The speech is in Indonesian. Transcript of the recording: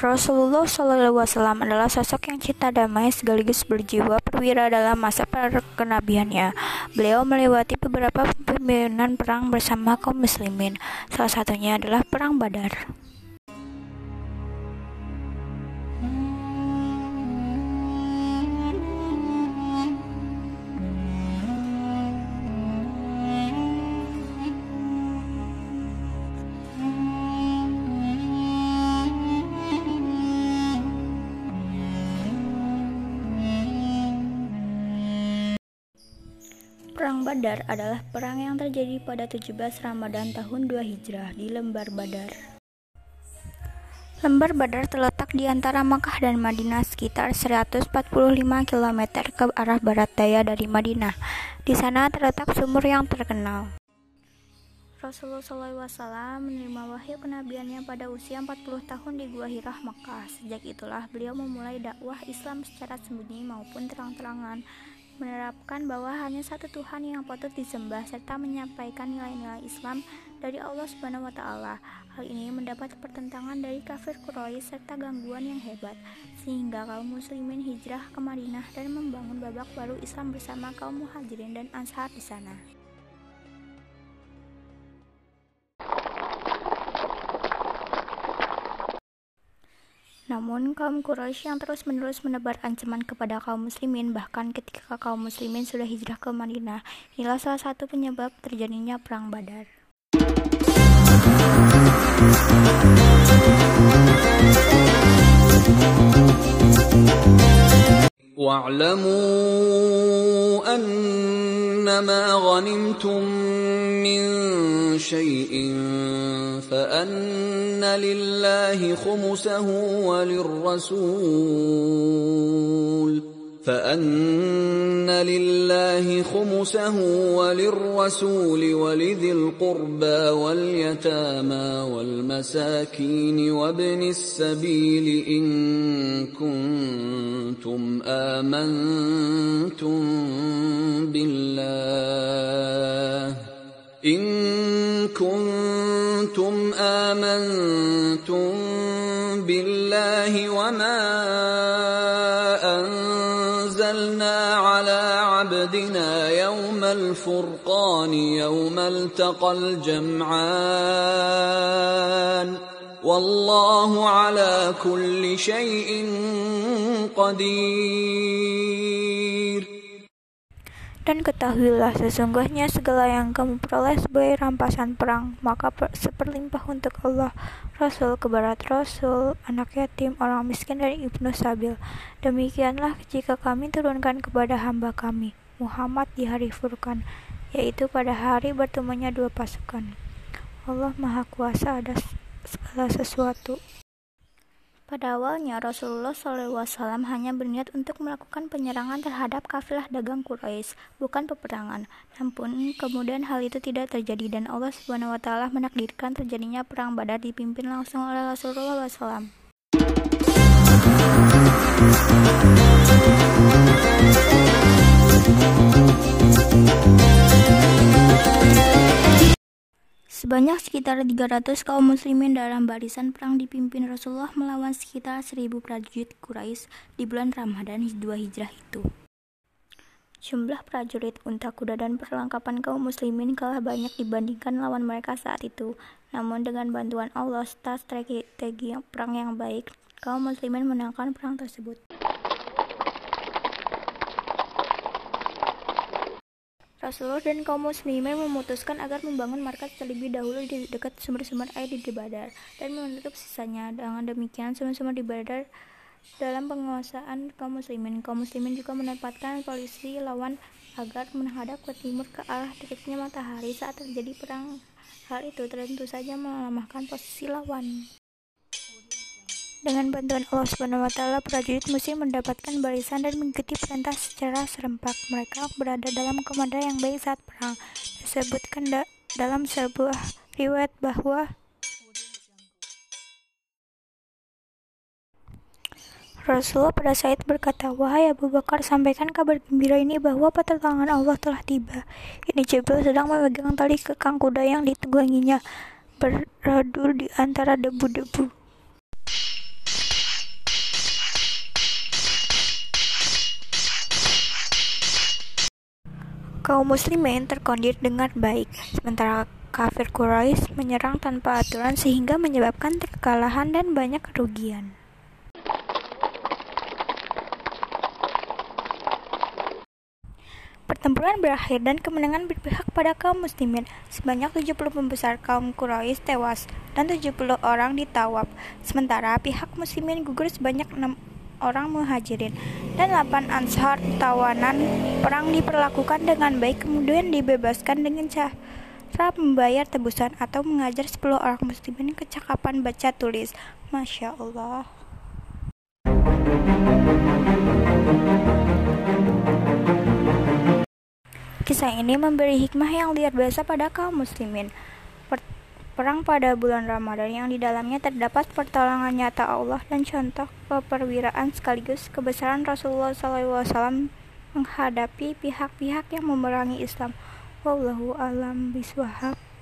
Rasulullah SAW adalah sosok yang cinta damai sekaligus berjiwa perwira dalam masa kenabiannya. Beliau melewati beberapa pimpinan perang bersama kaum muslimin. Salah satunya adalah Perang Badar. Perang Badar adalah perang yang terjadi pada 17 Ramadan tahun 2 Hijrah di Lembar Badar. Lembar Badar terletak di antara Makkah dan Madinah sekitar 145 km ke arah barat daya dari Madinah. Di sana terletak sumur yang terkenal. Rasulullah SAW menerima wahyu kenabiannya pada usia 40 tahun di Gua Hirah, Makkah. Sejak itulah beliau memulai dakwah Islam secara sembunyi maupun terang-terangan, menerapkan bahwa hanya satu Tuhan yang patut disembah serta menyampaikan nilai-nilai Islam dari Allah Subhanahu wa taala. Hal ini mendapat pertentangan dari kafir Quraisy serta gangguan yang hebat, sehingga kaum muslimin hijrah ke Madinah dan membangun babak baru Islam bersama kaum Muhajirin dan Anshar di sana. Namun, kaum Quraisy yang terus-menerus menebar ancaman kepada kaum muslimin, bahkan ketika kaum muslimin sudah hijrah ke Madinah, inilah salah satu penyebab terjadinya Perang Badar. وَاعْلَمُوا أَنَّمَا غَنِمْتُم مِّن شَيْءٍ فَأَنَّ لِلَّهِ خُمُسَهُ وَلِلرَّسُولِ وَلِذِي الْقُرْبَى وَالْيَتَامَى وَالْمَسَاكِينِ وَابْنِ السَّبِيلِ إِن كُنتُمْ آمنتم بالله وما أنزلنا على عبدنا يوم الفرقان يوم التقى الجمعان والله على كل شيء قدير. Dan ketahuilah sesungguhnya segala yang kamu peroleh sebagai rampasan perang, maka seperlimpah untuk Allah, Rasul, kebarat Rasul, anak yatim, orang miskin, dan ibnu sabil. Demikianlah jika kami turunkan kepada hamba kami, Muhammad, di hari Furqan, yaitu pada hari bertemunya dua pasukan. Allah Maha Kuasa atas segala sesuatu. Pada awalnya Rasulullah SAW hanya berniat untuk melakukan penyerangan terhadap kafilah dagang Quraisy, bukan peperangan. Namun kemudian hal itu tidak terjadi dan Allah Subhanahu wa taala menakdirkan terjadinya perang Badar dipimpin langsung oleh Rasulullah SAW. Sebanyak sekitar 300 kaum muslimin dalam barisan perang dipimpin Rasulullah melawan sekitar 1000 prajurit Quraisy di bulan Ramadan 2 Hijrah itu. Jumlah prajurit, unta, kuda, dan perlengkapan kaum muslimin kalah banyak dibandingkan lawan mereka saat itu. Namun dengan bantuan Allah serta strategi perang yang baik, kaum muslimin menangkan perang tersebut. Rasulullah dan kaum muslimin memutuskan agar membangun markas terlebih dahulu di dekat sumber-sumber air di Badar dan menutup sisanya. Dengan demikian, sumber-sumber di Badar dalam penguasaan kaum muslimin. Kaum muslimin juga menempatkan polisi lawan agar menghadap ke timur ke arah terbitnya matahari saat terjadi perang. Hal itu tentu saja melemahkan posisi lawan. Dengan bantuan Allah Subhanahu wa taala, prajurit muslim mendapatkan barisan dan mengikuti perintah secara serempak. Mereka berada dalam komando yang baik saat perang. Disebutkan dalam sebuah riwayat bahwa Rasulullah pada saat berkata, "Wahai Abu Bakar, sampaikan kabar gembira ini bahwa pertolongan Allah telah tiba." Ini Jibril sedang memegang tali kekang kuda yang ditungganginya, beradu di antara debu-debu. Kaum muslimin terkondir dengan baik, sementara kafir Quraisy menyerang tanpa aturan sehingga menyebabkan kekalahan dan banyak kerugian. Pertempuran berakhir dan kemenangan berpihak pada kaum muslimin. Sebanyak 70 pembesar kaum Quraisy tewas dan 70 orang ditawaf. Sementara pihak muslimin gugur sebanyak 6 orang muhajirin dan 8 ansar. Tawanan perang diperlakukan dengan baik kemudian dibebaskan dengan cara membayar tebusan atau mengajar 10 orang muslimin kecakapan baca tulis. Masya Allah. Kisah ini memberi hikmah yang luar biasa pada kaum muslimin. Perang pada bulan Ramadan yang di dalamnya terdapat pertolongan nyata Allah dan contoh keperwiraan sekaligus kebesaran Rasulullah SAW menghadapi pihak-pihak yang memerangi Islam. Wallahu a'lam bishawab.